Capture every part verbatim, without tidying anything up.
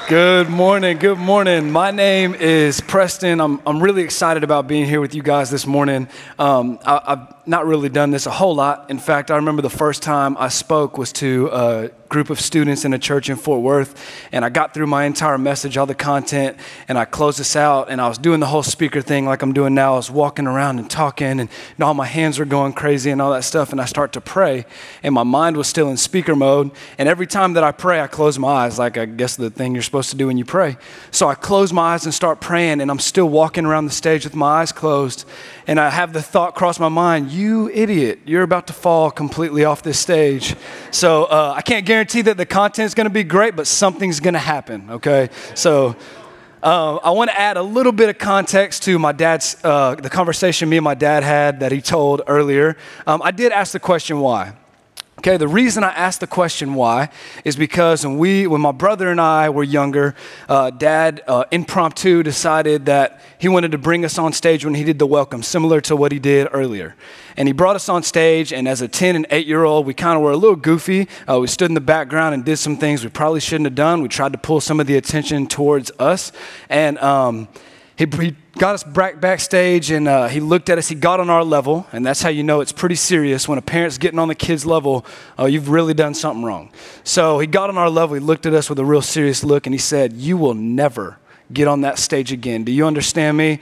Good morning, good morning. My name is Preston. I'm I'm really excited about being here with you guys this morning. Um, I, I've not really done this a whole lot. In fact, I remember the first time I spoke was to a group of students in a church in Fort Worth, and I got through my entire message, all the content, and I closed this out, and I was doing the whole speaker thing like I'm doing now. I was walking around and talking, and, and all my hands were going crazy and all that stuff, and I start to pray, and my mind was still in speaker mode, and every time that I pray, I close my eyes, like I guess the thing you're supposed to do when you pray. So I close my eyes and start praying, and I'm still walking around the stage with my eyes closed, and I have the thought cross my mind, you idiot, you're about to fall completely off this stage. So uh, I can't guarantee that the content's going to be great, but something's going to happen, okay? So uh, I want to add a little bit of context to my dad's, uh, the conversation me and my dad had that he told earlier. Um, I did ask the question why. Okay, the reason I asked the question why is because when we, when my brother and I were younger, uh, Dad uh, impromptu decided that he wanted to bring us on stage when he did the welcome, similar to what he did earlier. And he brought us on stage, and as a ten and eight-year-old, we kind of were a little goofy. Uh, we stood in the background and did some things we probably shouldn't have done. We tried to pull some of the attention towards us, and um, he, he got us back backstage, and uh, he looked at us. He got on our level, and that's how you know it's pretty serious. When a parent's getting on the kid's level, uh, you've really done something wrong. So he got on our level. He looked at us with a real serious look, and he said, "You will never get on that stage again. Do you understand me?"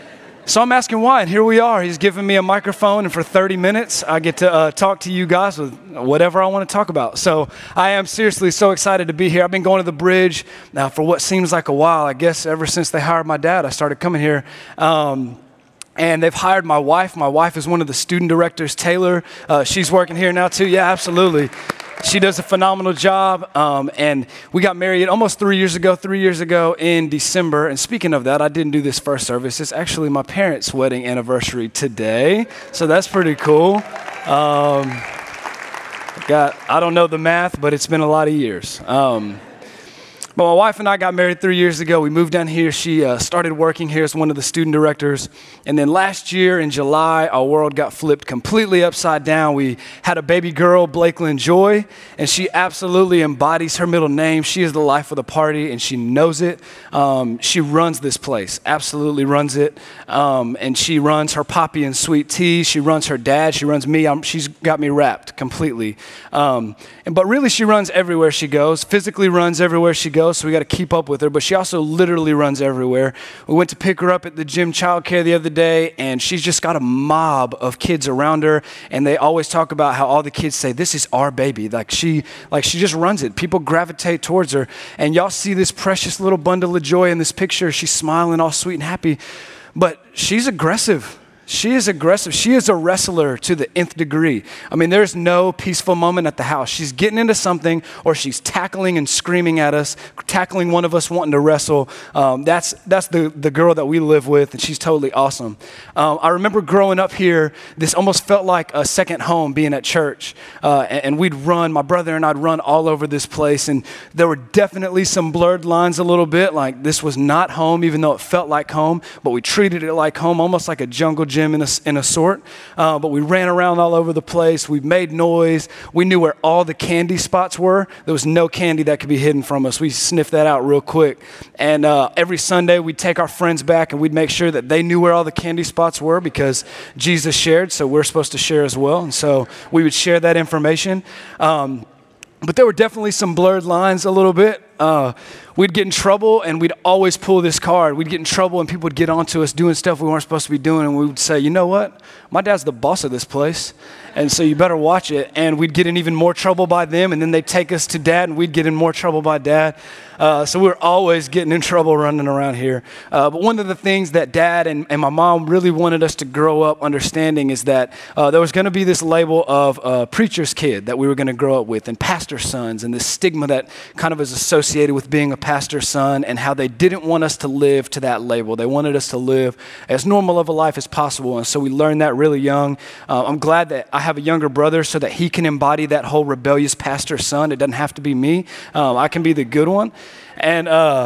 So I'm asking why, and here we are. He's giving me a microphone, and for thirty minutes, I get to uh, talk to you guys with whatever I want to talk about. So I am seriously so excited to be here. I've been going to the Bridge now for what seems like a while. I guess ever since they hired my dad, I started coming here. Um, And they've hired my wife. My wife is one of the student directors, Taylor. Uh, she's working here now too. Yeah, absolutely. She does a phenomenal job. Um, and we got married almost three years ago, three years ago in December. And speaking of that, I didn't do this first service. It's actually my parents' wedding anniversary today. So that's pretty cool. Um, got, I don't know the math, but it's been a lot of years. Um, But my wife and I got married three years ago. We moved down here. She uh, started working here as one of the student directors. And then last year in July, our world got flipped completely upside down. We had a baby girl, Blakelyn Joy, and she absolutely embodies her middle name. She is the life of the party, and she knows it. Um, she runs this place, absolutely runs it. Um, and she runs her Poppy and Sweet Tea. She runs her dad. She runs me. I'm, she's got me wrapped completely. Um, and But really, she runs everywhere she goes, physically runs everywhere she goes. So we got to keep up with her, but she also literally runs everywhere. We went to pick her up at the gym childcare the other day, and she's just got a mob of kids around her, and they always talk about how all the kids say, "This is our baby." Like she, like she just runs it. People gravitate towards her, and y'all see this precious little bundle of joy in this picture. She's smiling, all sweet and happy, but she's aggressive. She is aggressive. She is a wrestler to the nth degree. I mean, there's no peaceful moment at the house. She's getting into something, or she's tackling and screaming at us, tackling one of us wanting to wrestle. Um, that's that's the, the girl that we live with, and she's totally awesome. Um, I remember growing up here, this almost felt like a second home being at church. Uh, and, and we'd run, my brother and I'd run all over this place, and there were definitely some blurred lines a little bit, like this was not home, even though it felt like home, but we treated it like home, almost like a jungle gym in a, in a sort, uh, but we ran around all over the place. We made noise. We knew where all the candy spots were. There was no candy that could be hidden from us. We sniffed that out real quick. And uh, every Sunday, we'd take our friends back, and we'd make sure that they knew where all the candy spots were, because Jesus shared, so we're supposed to share as well. And so we would share that information. Um, but there were definitely some blurred lines a little bit. Uh, we'd get in trouble, and we'd always pull this card. We'd get in trouble, and people would get onto us doing stuff we weren't supposed to be doing, and we would say, "You know what? My dad's the boss of this place, and so you better watch it." And we'd get in even more trouble by them, and then they'd take us to dad, and we'd get in more trouble by dad. Uh, so we were always getting in trouble running around here. Uh, but one of the things that dad and, and my mom really wanted us to grow up understanding is that uh, there was going to be this label of uh, preacher's kid that we were going to grow up with, and pastor's sons, and this stigma that kind of is associated with being a pastor's son, and how they didn't want us to live to that label. They wanted us to live as normal of a life as possible, and so we learned that really young. Uh, I'm glad that I have a younger brother so that he can embody that whole rebellious pastor's son. It doesn't have to be me. Um, I can be the good one. And uh,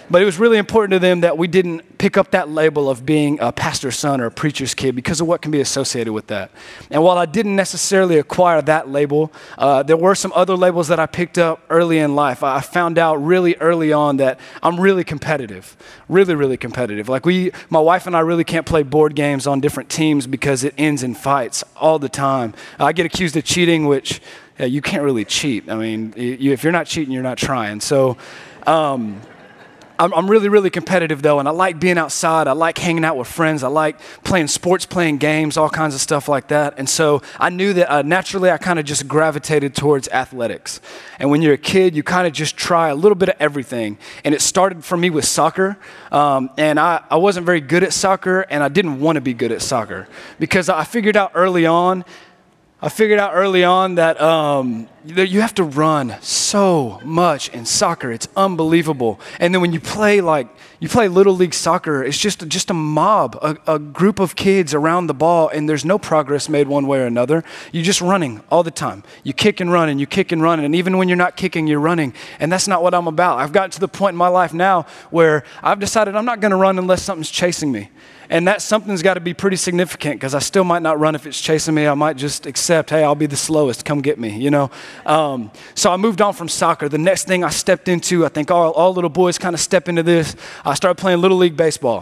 But it was really important to them that we didn't pick up that label of being a pastor's son or a preacher's kid because of what can be associated with that. And while I didn't necessarily acquire that label, uh, there were some other labels that I picked up early in life. I found out really early on that I'm really competitive, really, really competitive. Like we, my wife and I really can't play board games on different teams because it ends in fights all the time. I get accused of cheating, which yeah, you can't really cheat. I mean, you, if you're not cheating, you're not trying. So, um, I'm, I'm really, really competitive though, and I like being outside. I like hanging out with friends. I like playing sports, playing games, all kinds of stuff like that. And so I knew that uh, naturally I kind of just gravitated towards athletics. And when you're a kid, you kind of just try a little bit of everything. And it started for me with soccer. Um, and I, I wasn't very good at soccer, and I didn't want to be good at soccer because I figured out early on I figured out early on that um, you have to run so much in soccer. It's unbelievable. And then when you play like, you play Little League soccer, it's just, just a mob, a, a group of kids around the ball, and there's no progress made one way or another. You're just running all the time. You kick and run, and you kick and run, and even when you're not kicking, you're running. And that's not what I'm about. I've gotten to the point in my life now where I've decided I'm not going to run unless something's chasing me. And that something's got to be pretty significant because I still might not run if it's chasing me. I might just accept, hey, I'll be the slowest. Come get me, you know. Um, so I moved on from soccer. The next thing I stepped into, I think all, all little boys kind of step into this. I started playing Little League baseball.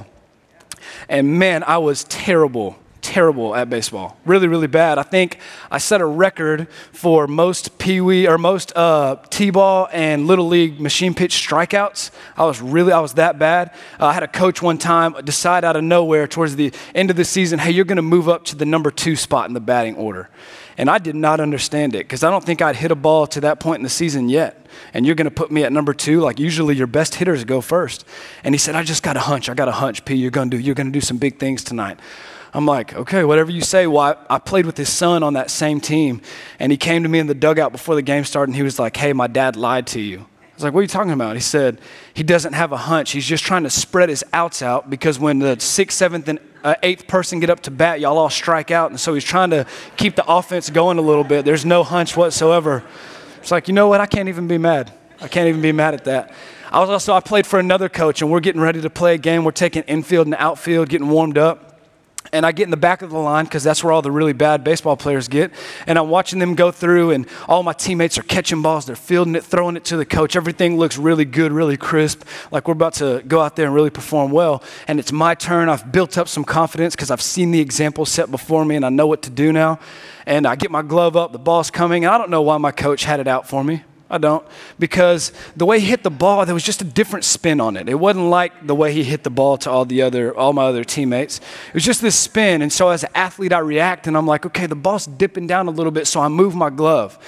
And man, I was terrible. terrible at baseball. Really, really bad. I think I set a record for most Pee-wee or most uh, T-ball and Little League machine pitch strikeouts. I was really, I was that bad. Uh, I had a coach one time decide out of nowhere towards the end of the season, hey, you're going to move up to the number two spot in the batting order. And I did not understand it because I don't think I'd hit a ball to that point in the season yet. And you're going to put me at number two? Like usually your best hitters go first. And he said, I just got a hunch. I got a hunch, P. You're going to do, you're going to do some big things tonight. I'm like, okay, whatever you say. Well, I, I played with his son on that same team, and he came to me in the dugout before the game started, and he was like, hey, my dad lied to you. I was like, what are you talking about? He said, he doesn't have a hunch. He's just trying to spread his outs out because when the sixth, seventh, and uh, eighth person get up to bat, y'all all strike out, and so he's trying to keep the offense going a little bit. There's no hunch whatsoever. It's like, you know what? I can't even be mad. I can't even be mad at that. I was also, I played for another coach, and we're getting ready to play a game. We're taking infield and outfield, getting warmed up. And I get in the back of the line because that's where all the really bad baseball players get. And I'm watching them go through, and all my teammates are catching balls. They're fielding it, throwing it to the coach. Everything looks really good, really crisp, like we're about to go out there and really perform well. And it's my turn. I've built up some confidence because I've seen the example set before me, and I know what to do now. And I get my glove up. The ball's coming. And I don't know why my coach had it out for me. I don't, because the way he hit the ball, there was just a different spin on it. It wasn't like the way he hit the ball to all the other, all my other teammates. It was just this spin, and so as an athlete, I react, and I'm like, okay, the ball's dipping down a little bit, so I move my glove,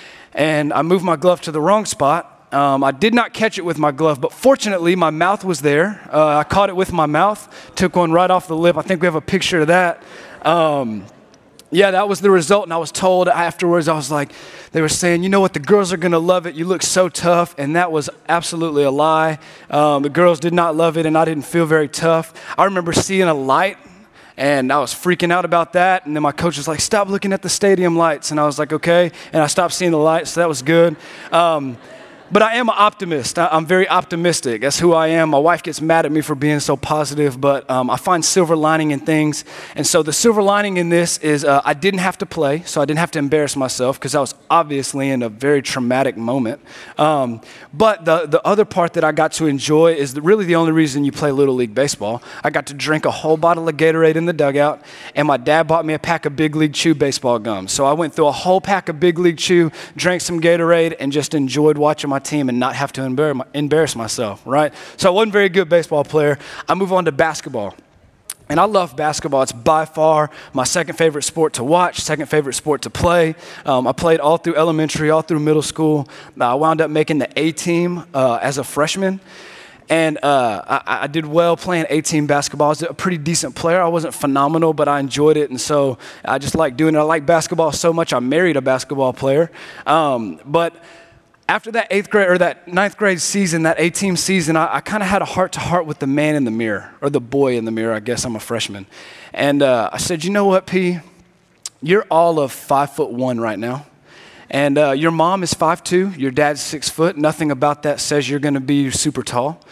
and I move my glove to the wrong spot. Um, I did not catch it with my glove, but fortunately, my mouth was there. Uh, I caught it with my mouth, took one right off the lip. I think we have a picture of that. Um, Yeah, that was the result, and I was told afterwards, I was like, they were saying, you know what, the girls are going to love it. You look so tough, and that was absolutely a lie. Um, the girls did not love it, and I didn't feel very tough. I remember seeing a light, and I was freaking out about that, and then my coach was like, stop looking at the stadium lights, and I was like, okay, and I stopped seeing the lights, so that was good. Um, But I am an optimist. I'm very optimistic. That's who I am. My wife gets mad at me for being so positive, but um, I find silver lining in things. And so the silver lining in this is uh, I didn't have to play, so I didn't have to embarrass myself because I was obviously in a very traumatic moment. Um, but the, the other part that I got to enjoy is the, really the only reason you play Little League baseball. I got to drink a whole bottle of Gatorade in the dugout, and my dad bought me a pack of Big League Chew baseball gums. So I went through a whole pack of Big League Chew, drank some Gatorade, and just enjoyed watching my team and not have to embarrass myself, right? So I wasn't a very good baseball player. I move on to basketball. And I love basketball. It's by far my second favorite sport to watch, second favorite sport to play. Um, I played all through elementary, all through middle school. I wound up making the A-team uh, as a freshman. And uh, I, I did well playing A-team basketball. I was a pretty decent player. I wasn't phenomenal, but I enjoyed it. And so I just like doing it. I like basketball so much, I married a basketball player. Um, but After that eighth grade or that ninth grade season, that A-team season, I, I kind of had a heart-to-heart with the man in the mirror, or the boy in the mirror. I guess I'm a freshman. And uh, I said, you know what, P? You're all of five foot one right now. And uh, your mom is five two. Your dad's six foot. Nothing about that says you're going to be super tall.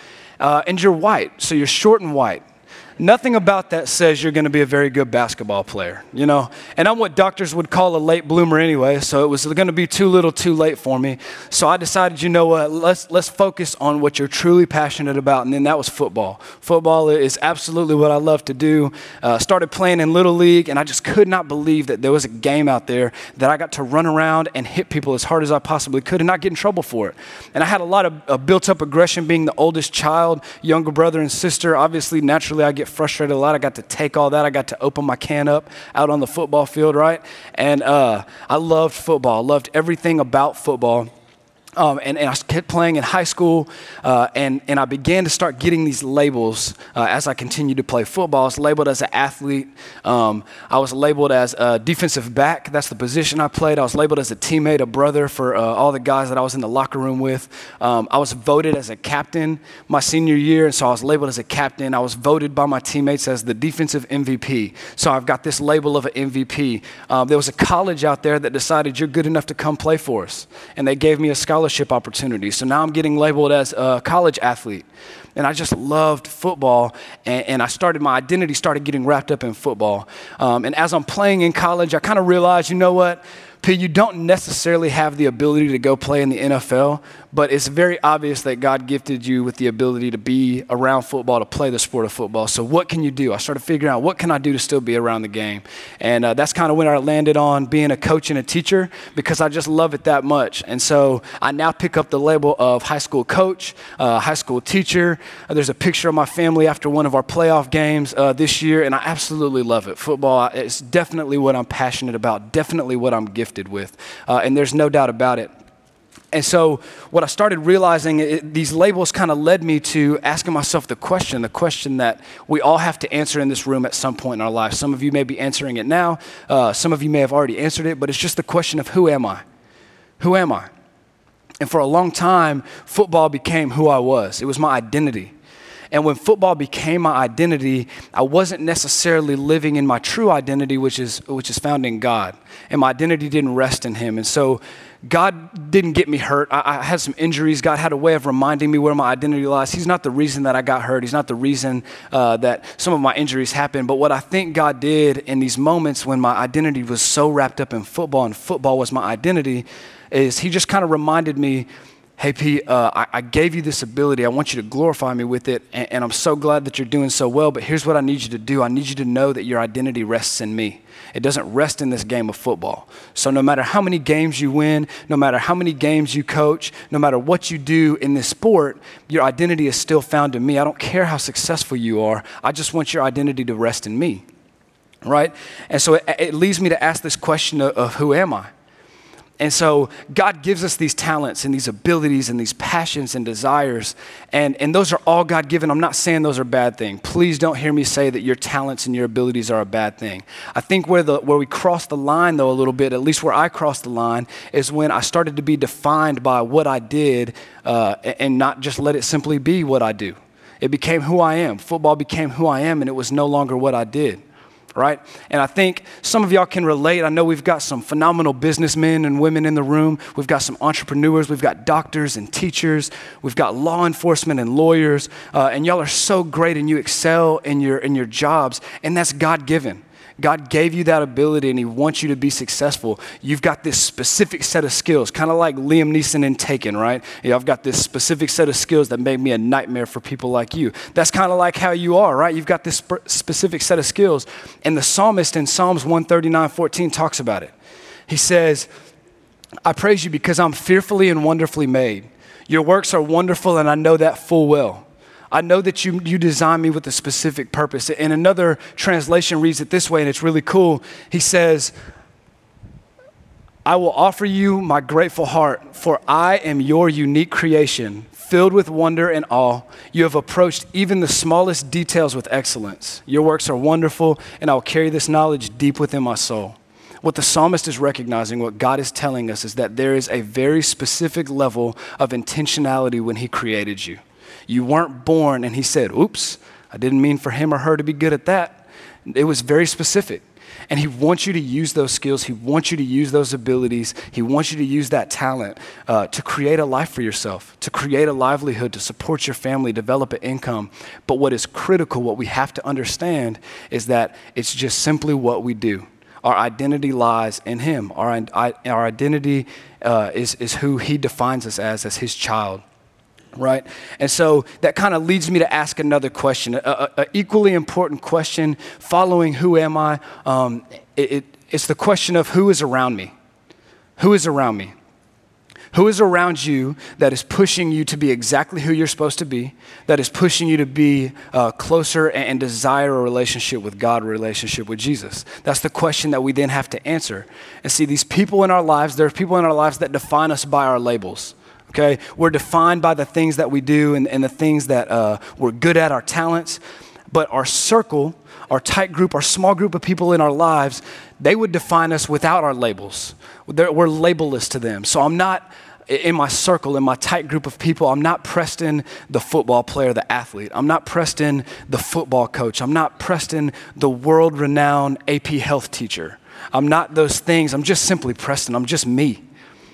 uh, and you're white, so you're short and white. Nothing about that says you're going to be a very good basketball player, you know? And I'm what doctors would call a late bloomer anyway, so it was going to be too little too late for me. So I decided, you know what, let's let's focus on what you're truly passionate about, and then that was football. Football is absolutely what I love to do. Uh, started playing in Little League, and I just could not believe that there was a game out there that I got to run around and hit people as hard as I possibly could and not get in trouble for it. And I had a lot of uh, built-up aggression being the oldest child, younger brother and sister. Obviously, naturally, I get frustrated a lot. I got to take all that. I got to open my can up out on the football field, right? And uh, I loved football. I loved everything about football. Um, and, and I kept playing in high school, uh, and, and I began to start getting these labels uh, as I continued to play football. I was labeled as an athlete. Um, I was labeled as a defensive back. That's the position I played. I was labeled as a teammate, a brother for uh, all the guys that I was in the locker room with. Um, I was voted as a captain my senior year, and so I was labeled as a captain. I was voted by my teammates as the defensive M V P. So I've got this label of an M V P. Um, there was a college out there that decided you're good enough to come play for us, and they gave me a scholarship opportunity. So now I'm getting labeled as a college athlete. And I just loved football, and, and I started, my identity started getting wrapped up in football. Um, and as I'm playing in college, I kind of realized, you know what, P, you don't necessarily have the ability to go play in the N F L, but it's very obvious that God gifted you with the ability to be around football, to play the sport of football. So what can you do? I started figuring out, what can I do to still be around the game? And uh, that's kind of when I landed on being a coach and a teacher, because I just love it that much. And so I now pick up the label of high school coach, uh, high school teacher. Uh, there's a picture of my family after one of our playoff games uh, this year, and I absolutely love it. Football is definitely what I'm passionate about, definitely what I'm gifted with, uh, and there's no doubt about it. And so what I started realizing, it, these labels kind of led me to asking myself the question, the question that we all have to answer in this room at some point in our life. Some of you may be answering it now. Uh, some of you may have already answered it, but it's just the question of, who am I? Who am I? And for a long time, football became who I was. It was my identity. And when football became my identity, I wasn't necessarily living in my true identity, which is which is found in God. And my identity didn't rest in him. And so God didn't get me hurt. I, I had some injuries. God had a way of reminding me where my identity lies. He's not the reason that I got hurt. He's not the reason uh, that some of my injuries happened. But what I think God did in these moments when my identity was so wrapped up in football, and football was my identity, is he just kind of reminded me, hey, P, uh, I, I gave you this ability. I want you to glorify me with it, and, and I'm so glad that you're doing so well, but here's what I need you to do. I need you to know that your identity rests in me. It doesn't rest in this game of football. So no matter how many games you win, no matter how many games you coach, no matter what you do in this sport, your identity is still found in me. I don't care how successful you are. I just want your identity to rest in me, right? And so it, it leads me to ask this question of, of who am I? And so God gives us these talents and these abilities and these passions and desires, and, and those are all God-given. I'm not saying those are bad things. Please don't hear me say that your talents and your abilities are a bad thing. I think where the where we cross the line, though, a little bit, at least where I crossed the line, is when I started to be defined by what I did uh, and not just let it simply be what I do. It became who I am. Football became who I am, and it was no longer what I did. Right? And I think some of y'all can relate. I know we've got some phenomenal businessmen and women in the room. We've got some entrepreneurs. We've got doctors and teachers. We've got law enforcement and lawyers. Uh, and y'all are so great, and you excel in your in your jobs. And that's God-given. God gave you that ability, and he wants you to be successful. You've got this specific set of skills, kind of like Liam Neeson in Taken, right? Yeah, I've got this specific set of skills that made me a nightmare for people like you. That's kind of like how you are, right? You've got this sp- specific set of skills. And the psalmist in Psalms one thirty-nine fourteen talks about it. He says, I praise you because I'm fearfully and wonderfully made. Your works are wonderful, and I know that full well. I know that you you designed me with a specific purpose. And another translation reads it this way, and it's really cool. He says, I will offer you my grateful heart, for I am your unique creation, filled with wonder and awe. You have approached even the smallest details with excellence. Your works are wonderful, and I will carry this knowledge deep within my soul. What the psalmist is recognizing, what God is telling us, is that there is a very specific level of intentionality when he created you. You weren't born and he said, oops, I didn't mean for him or her to be good at that. It was very specific. And he wants you to use those skills. He wants you to use those abilities. He wants you to use that talent uh, to create a life for yourself, to create a livelihood, to support your family, develop an income. But what is critical, what we have to understand is that it's just simply what we do. Our identity lies in him. Our, our identity uh, is, is who he defines us as, as his child. Right? And so that kind of leads me to ask another question, an equally important question following who am I? Um, it, it, it's the question of who is around me? Who is around me? Who is around you that is pushing you to be exactly who you're supposed to be, that is pushing you to be uh, closer and, and desire a relationship with God, a relationship with Jesus? That's the question that we then have to answer. And see, these people in our lives, there are people in our lives that define us by our labels. Okay, we're defined by the things that we do and, and the things that uh, we're good at, our talents. But our circle, our tight group, our small group of people in our lives, they would define us without our labels. They're, we're labelless to them. So I'm not, in my circle, in my tight group of people, I'm not Preston, the football player, the athlete. I'm not Preston, the football coach. I'm not Preston, the world-renowned A P health teacher. I'm not those things. I'm just simply Preston. I'm just me.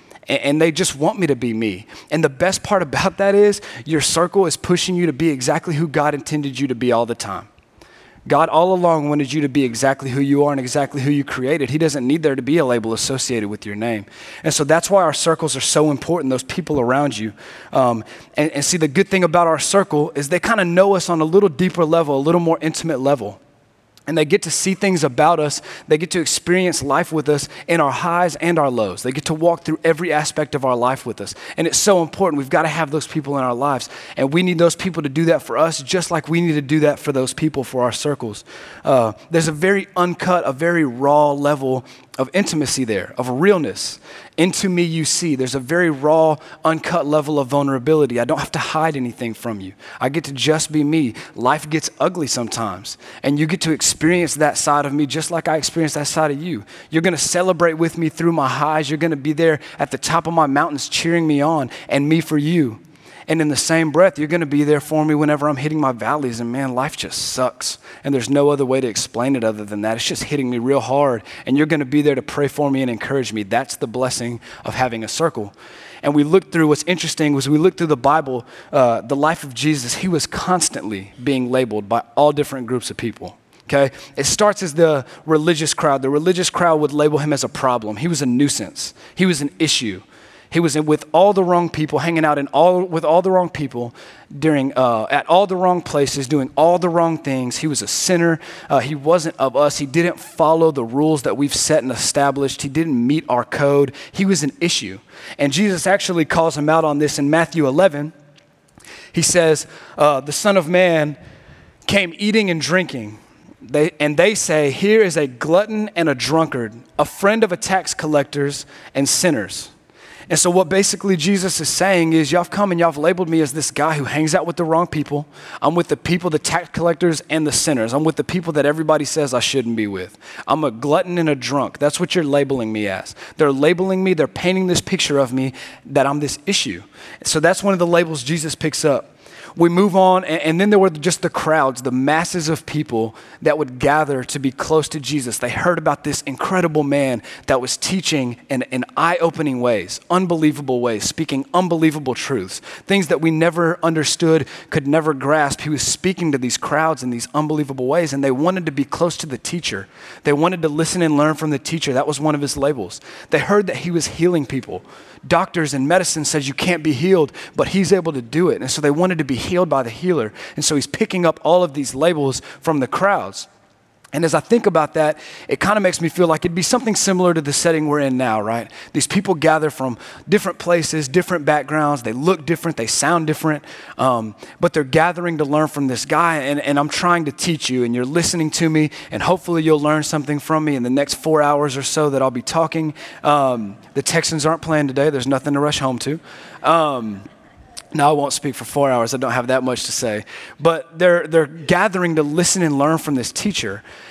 And they just want me to be me. And the best part about that is your circle is pushing you to be exactly who God intended you to be all the time. God all along wanted you to be exactly who you are and exactly who you created. He doesn't need there to be a label associated with your name. And so that's why our circles are so important, those people around you. Um, and, and see, the good thing about our circle is they kind of know us on a little deeper level, a little more intimate level. And they get to see things about us. They get to experience life with us in our highs and our lows. They get to walk through every aspect of our life with us. And it's so important. We've got to have those people in our lives. And we need those people to do that for us, just like we need to do that for those people, for our circles. Uh, there's a very uncut, a very raw level of intimacy there, of realness. Into me you see. There's a very raw, uncut level of vulnerability. I don't have to hide anything from you. I get to just be me. Life gets ugly sometimes, and you get to experience that side of me just like I experience that side of you. You're going to celebrate with me through my highs. You're going to be there at the top of my mountains cheering me on, and me for you. And in the same breath, you're going to be there for me whenever I'm hitting my valleys. And man, life just sucks. And there's no other way to explain it other than that. It's just hitting me real hard. And you're going to be there to pray for me and encourage me. That's the blessing of having a circle. And we look through, what's interesting was we look through the Bible, uh, the life of Jesus. He was constantly being labeled by all different groups of people. Okay, it starts as the religious crowd. The religious crowd would label him as a problem. He was a nuisance. He was an issue. He was in with all the wrong people, hanging out in all with all the wrong people, during uh, at all the wrong places, doing all the wrong things. He was a sinner. Uh, he wasn't of us. He didn't follow the rules that we've set and established. He didn't meet our code. He was an issue. And Jesus actually calls him out on this in Matthew eleven. He says, uh, the Son of Man came eating and drinking. They, and they say, here is a glutton and a drunkard, a friend of a tax collectors and sinners. And so what basically Jesus is saying is, y'all have come and y'all have labeled me as this guy who hangs out with the wrong people. I'm with the people, the tax collectors and the sinners. I'm with the people that everybody says I shouldn't be with. I'm a glutton and a drunk. That's what you're labeling me as. They're labeling me, they're painting this picture of me that I'm this issue. So that's one of the labels Jesus picks up. We move on, and, and then there were just the crowds, the masses of people that would gather to be close to Jesus. They heard about this incredible man that was teaching in, in eye-opening ways, unbelievable ways, speaking unbelievable truths, things that we never understood, could never grasp. He was speaking to these crowds in these unbelievable ways, and they wanted to be close to the teacher. They wanted to listen and learn from the teacher. That was one of his labels. They heard that he was healing people. Doctors and medicine says you can't be healed, but he's able to do it. And so they wanted to be healed by the healer. And so he's picking up all of these labels from the crowds. And as I think about that, it kind of makes me feel like it'd be something similar to the setting we're in now, right? These people gather from different places, different backgrounds. They look different. They sound different. Um, but they're gathering to learn from this guy. And, and I'm trying to teach you, and you're listening to me. And hopefully you'll learn something from me in the next four hours or so that I'll be talking. Um, the Texans aren't playing today. There's nothing to rush home to. Um, No, I won't speak for four hours. I don't have that much to say. But they're they're gathering to listen and learn from this teacher.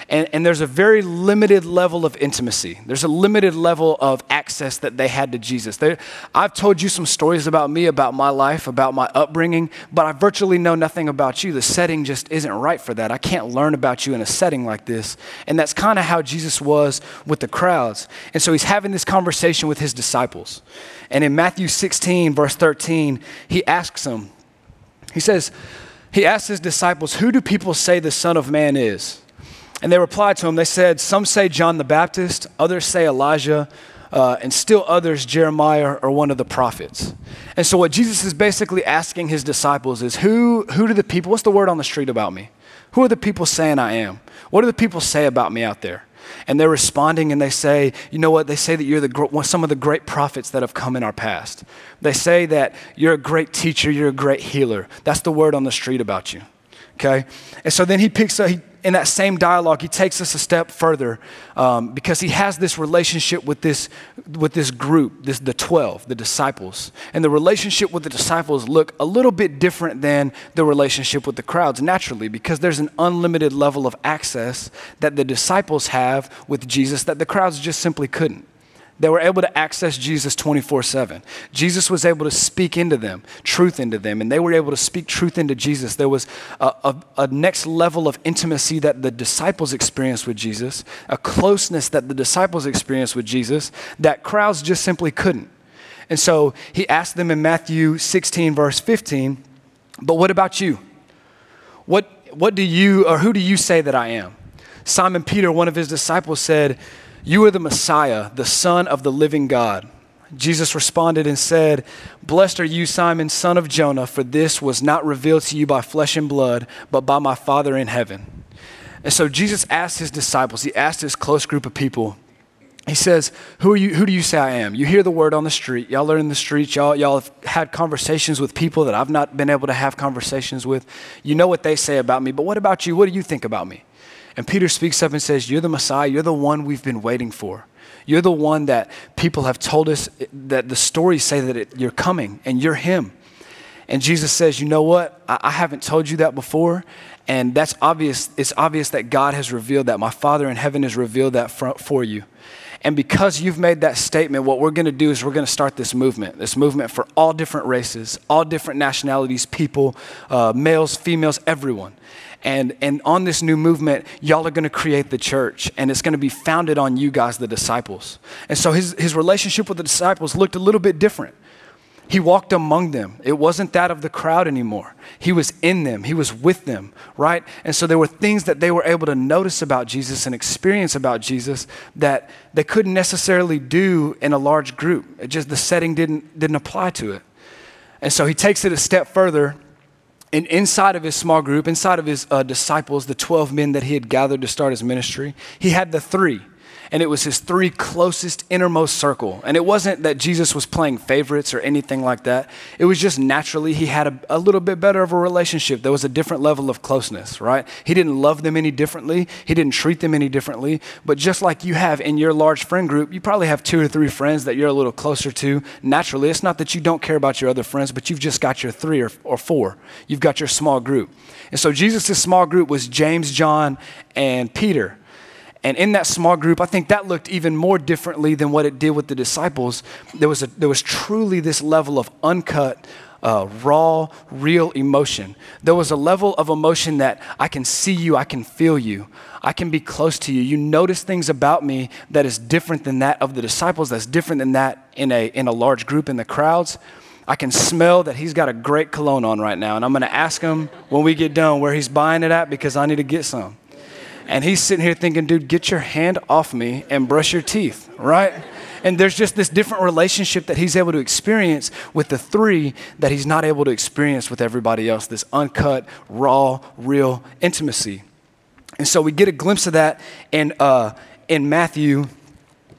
And, and there's a very limited level of intimacy. There's a limited level of access that they had to Jesus. They, I've told you some stories about me, about my life, about my upbringing, but I virtually know nothing about you. The setting just isn't right for that. I can't learn about you in a setting like this. And that's kind of how Jesus was with the crowds. And so he's having this conversation with his disciples. And in Matthew sixteen, verse thirteen, he asks them, he says, he asks his disciples, who do people say the Son of Man is? And they replied to him, they said, some say John the Baptist, others say Elijah, uh, and still others Jeremiah or one of the prophets. And so what Jesus is basically asking his disciples is, who, who do the people, what's the word on the street about me? Who are the people saying I am? What do the people say about me out there? And they're responding and they say, you know what? They say that you're the some of the great prophets that have come in our past. They say that you're a great teacher, you're a great healer. That's the word on the street about you, okay? And so then he picks up, he, in that same dialogue, he takes us a step further um, because he has this relationship with this with this group, this the twelve, the disciples. And the relationship with the disciples look a little bit different than the relationship with the crowds, naturally, because there's an unlimited level of access that the disciples have with Jesus that the crowds just simply couldn't. They were able to access Jesus twenty-four seven. Jesus was able to speak into them, truth into them, and they were able to speak truth into Jesus. There was a, a, a next level of intimacy that the disciples experienced with Jesus, a closeness that the disciples experienced with Jesus that crowds just simply couldn't. And so he asked them in Matthew sixteen, verse fifteen, but what about you? What, what do you, or who do you say that I am? Simon Peter, one of his disciples, said, you are the Messiah, the Son of the living God. Jesus responded and said, blessed are you, Simon, son of Jonah, for this was not revealed to you by flesh and blood, but by my Father in heaven. And so Jesus asked his disciples, he asked his close group of people, he says, who are you? Who do you say I am? You hear the word on the street. Y'all are in the streets. Y'all, y'all have had conversations with people that I've not been able to have conversations with. You know what they say about me, but what about you? What do you think about me? And Peter speaks up and says, you're the Messiah. You're the one we've been waiting for. You're the one that people have told us that the stories say that it, you're coming and you're him. And Jesus says, you know what? I, I haven't told you that before. And that's obvious. It's obvious that God has revealed that. My Father in heaven has revealed that for, for you. And because you've made that statement, what we're going to do is we're going to start this movement, this movement for all different races, all different nationalities, people, uh, males, females, everyone. And and on this new movement, y'all are going to create the church, and it's going to be founded on you guys, the disciples. And so his, his relationship with the disciples looked a little bit different. He walked among them. It wasn't that of the crowd anymore. He was in them. He was with them, right? And so there were things that they were able to notice about Jesus and experience about Jesus that they couldn't necessarily do in a large group. It just, the setting didn't, didn't apply to it. And so he takes it a step further. And inside of his small group, inside of his uh, disciples, the twelve men that he had gathered to start his ministry, he had the three. And it was his three closest innermost circle. And it wasn't that Jesus was playing favorites or anything like that. It was just naturally he had a, a little bit better of a relationship. There was a different level of closeness, right? He didn't love them any differently. He didn't treat them any differently. But just like you have in your large friend group, you probably have two or three friends that you're a little closer to naturally. It's not that you don't care about your other friends, but you've just got your three or, or four. You've got your small group. And so Jesus' small group was James, John, and Peter. And in that small group, I think that looked even more differently than what it did with the disciples. There was a, there was truly this level of uncut, uh, raw, real emotion. There was a level of emotion that I can see you, I can feel you, I can be close to you. You notice things about me that is different than that of the disciples, that's different than that in a in a large group in the crowds. I can smell that he's got a great cologne on right now, and I'm going to ask him when we get done where he's buying it at because I need to get some. And he's sitting here thinking, dude, get your hand off me and brush your teeth, right? And there's just this different relationship that he's able to experience with the three that he's not able to experience with everybody else, this uncut, raw, real intimacy. And so we get a glimpse of that in, uh, in Matthew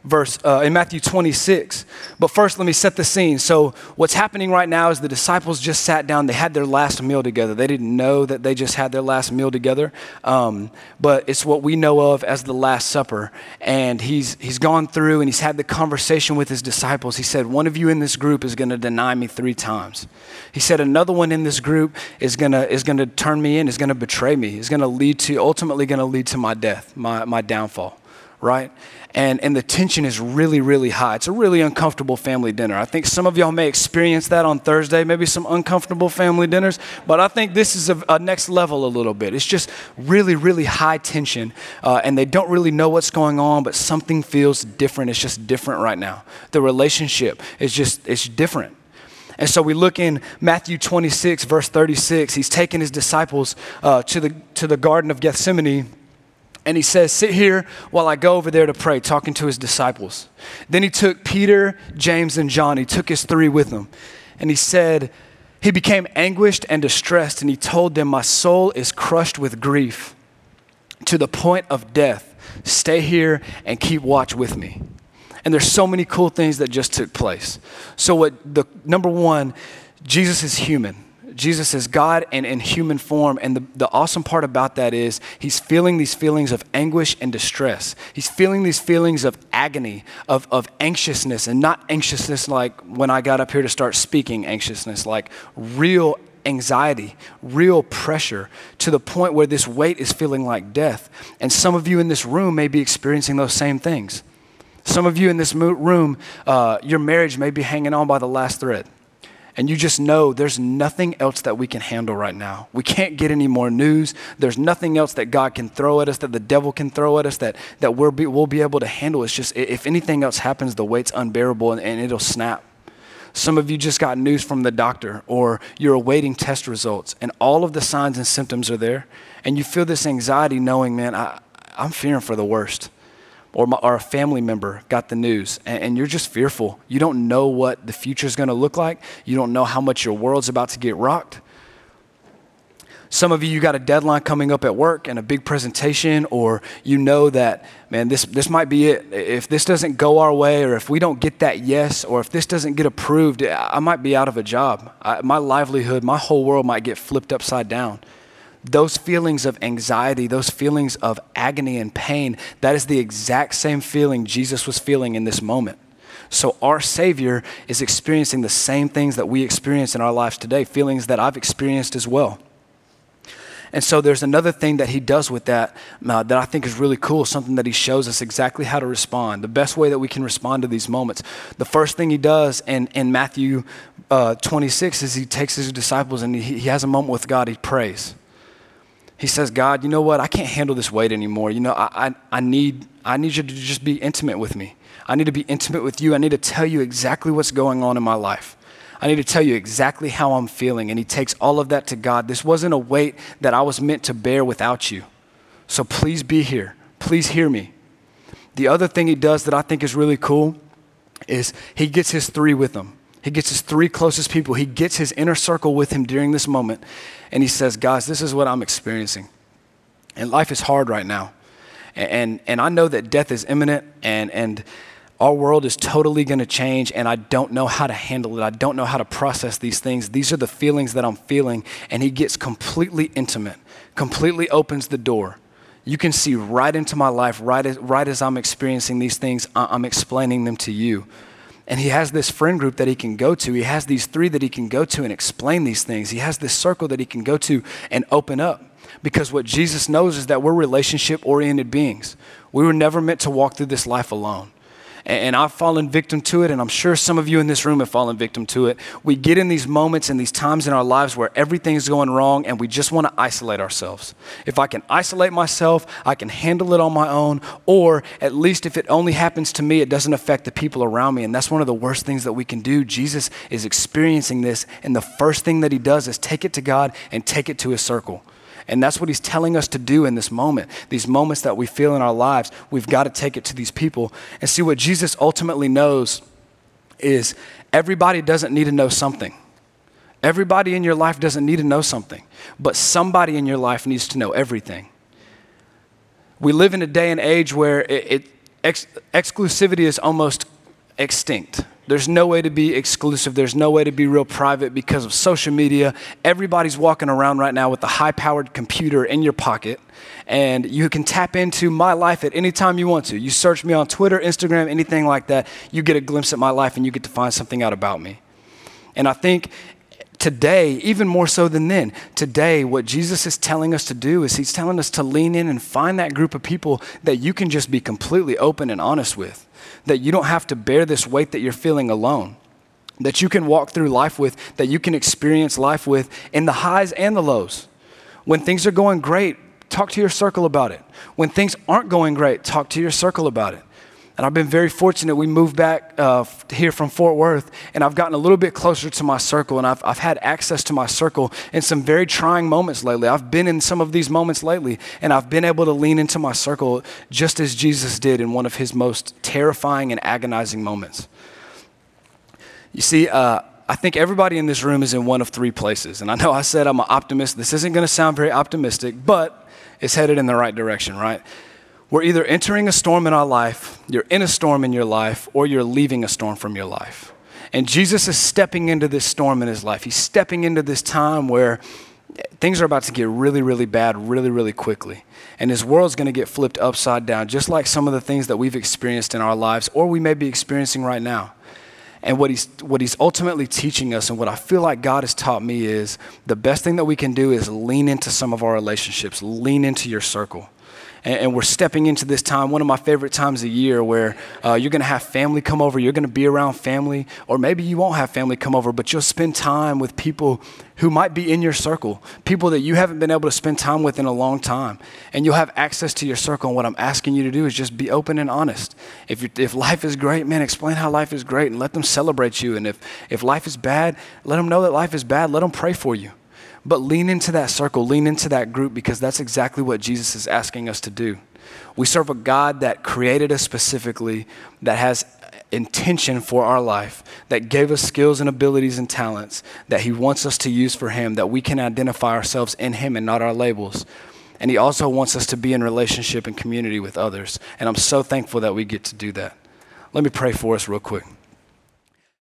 verse uh, in Matthew twenty-six. But first, let me set the scene. So what's happening right now is the disciples just sat down. They had their last meal together. They didn't know that they just had their last meal together, um, but it's what we know of as the Last Supper. And he's he's gone through and he's had the conversation with his disciples. He said, one of you in this group is going to deny me three times. He said, another one in this group is gonna is gonna turn me in, is gonna betray me, is gonna lead to ultimately gonna lead to my death, my my downfall, right? And and the tension is really, really high. It's a really uncomfortable family dinner. I think some of y'all may experience that on Thursday, maybe some uncomfortable family dinners, but I think this is a, a next level a little bit. It's just really, really high tension, uh, and they don't really know what's going on, but something feels different. It's just different right now. The relationship is just, it's different. And so we look in Matthew twenty-six, verse thirty-six. He's taken his disciples uh, to the to the Garden of Gethsemane, and he says, sit here while I go over there to pray, talking to his disciples. Then he took Peter, James, and John. He took his three with him. And he said, he became anguished and distressed, and he told them, my soul is crushed with grief to the point of death. Stay here and keep watch with me. And there's so many cool things that just took place. So what the number one, Jesus is human. Jesus is God and in human form. And the, the awesome part about that is he's feeling these feelings of anguish and distress. He's feeling these feelings of agony, of, of anxiousness, and not anxiousness like when I got up here to start speaking anxiousness, like real anxiety, real pressure to the point where this weight is feeling like death. And some of you in this room may be experiencing those same things. Some of you in this room, uh, your marriage may be hanging on by the last thread. And you just know there's nothing else that we can handle right now. We can't get any more news. There's nothing else that God can throw at us, that the devil can throw at us, that, that we'll, be, we'll be able to handle. It's just, if anything else happens, the weight's unbearable and, and it'll snap. Some of you just got news from the doctor, or you're awaiting test results, and all of the signs and symptoms are there. And you feel this anxiety knowing, man, I, I'm fearing for the worst. Or, my, or a family member got the news, and, and you're just fearful. You don't know what the future is going to look like. You don't know how much your world's about to get rocked. Some of you, you got a deadline coming up at work and a big presentation, or you know that, man, this, this might be it. If this doesn't go our way, or if we don't get that yes, or if this doesn't get approved, I might be out of a job. I, my livelihood, my whole world might get flipped upside down. Those feelings of anxiety, those feelings of agony and pain, that is the exact same feeling Jesus was feeling in this moment. So our Savior is experiencing the same things that we experience in our lives today, feelings that I've experienced as well. And so there's another thing that he does with that uh, that I think is really cool, something that he shows us exactly how to respond, the best way that we can respond to these moments. The first thing he does in, in Matthew uh, twenty-six is he takes his disciples and he, he has a moment with God, he prays. He says, God, you know what? I can't handle this weight anymore. You know, I, I I need I need you to just be intimate with me. I need to be intimate with you. I need to tell you exactly what's going on in my life. I need to tell you exactly how I'm feeling. And he takes all of that to God. This wasn't a weight that I was meant to bear without you. So please be here. Please hear me. The other thing he does that I think is really cool is he gets his three with him. He gets his three closest people. He gets his inner circle with him during this moment. And he says, guys, this is what I'm experiencing. And life is hard right now. And, and, and I know that death is imminent, and, and our world is totally going to change, and I don't know how to handle it. I don't know how to process these things. These are the feelings that I'm feeling. And he gets completely intimate, completely opens the door. You can see right into my life, right as, right as I'm experiencing these things, I'm explaining them to you. And he has this friend group that he can go to. He has these three that he can go to and explain these things. He has this circle that he can go to and open up. Because what Jesus knows is that we're relationship-oriented beings. We were never meant to walk through this life alone. And I've fallen victim to it, and I'm sure some of you in this room have fallen victim to it. We get in these moments and these times in our lives where everything's going wrong, and we just want to isolate ourselves. If I can isolate myself, I can handle it on my own, or at least if it only happens to me, it doesn't affect the people around me, and that's one of the worst things that we can do. Jesus is experiencing this, and the first thing that he does is take it to God and take it to his circle. And that's what he's telling us to do in this moment. These moments that we feel in our lives, we've got to take it to these people. And see, what Jesus ultimately knows is everybody doesn't need to know something. Everybody in your life doesn't need to know something, but somebody in your life needs to know everything. We live in a day and age where it, it ex- exclusivity is almost extinct. There's no way to be exclusive. There's no way to be real private because of social media. Everybody's walking around right now with a high-powered computer in your pocket, and you can tap into my life at any time you want to. You search me on Twitter, Instagram, anything like that, you get a glimpse at my life and you get to find something out about me. And I think today, even more so than then, today what Jesus is telling us to do is he's telling us to lean in and find that group of people that you can just be completely open and honest with, that you don't have to bear this weight that you're feeling alone, that you can walk through life with, that you can experience life with in the highs and the lows. When things are going great, talk to your circle about it. When things aren't going great, talk to your circle about it. And I've been very fortunate. We moved back uh, here from Fort Worth, and I've gotten a little bit closer to my circle, and I've, I've had access to my circle in some very trying moments lately. I've been in some of these moments lately, and I've been able to lean into my circle just as Jesus did in one of his most terrifying and agonizing moments. You see, uh, I think everybody in this room is in one of three places, and I know I said I'm an optimist. This isn't going to sound very optimistic, but it's headed in the right direction, right? We're either entering a storm in our life, you're in a storm in your life, or you're leaving a storm from your life. And Jesus is stepping into this storm in his life. He's stepping into this time where things are about to get really, really bad really, really quickly. And his world's going to get flipped upside down, just like some of the things that we've experienced in our lives, or we may be experiencing right now. And what he's what he's ultimately teaching us, and what I feel like God has taught me, is the best thing that we can do is lean into some of our relationships, lean into your circle. And we're stepping into this time, one of my favorite times of year, where uh, you're going to have family come over, you're going to be around family, or maybe you won't have family come over, but you'll spend time with people who might be in your circle, people that you haven't been able to spend time with in a long time. And you'll have access to your circle, and what I'm asking you to do is just be open and honest. If you if life is great, man, explain how life is great and let them celebrate you. And if, if life is bad, let them know that life is bad. Let them pray for you. But lean into that circle, lean into that group, because that's exactly what Jesus is asking us to do. We serve a God that created us specifically, that has intention for our life, that gave us skills and abilities and talents that he wants us to use for him, that we can identify ourselves in him and not our labels. And he also wants us to be in relationship and community with others. And I'm so thankful that we get to do that. Let me pray for us real quick.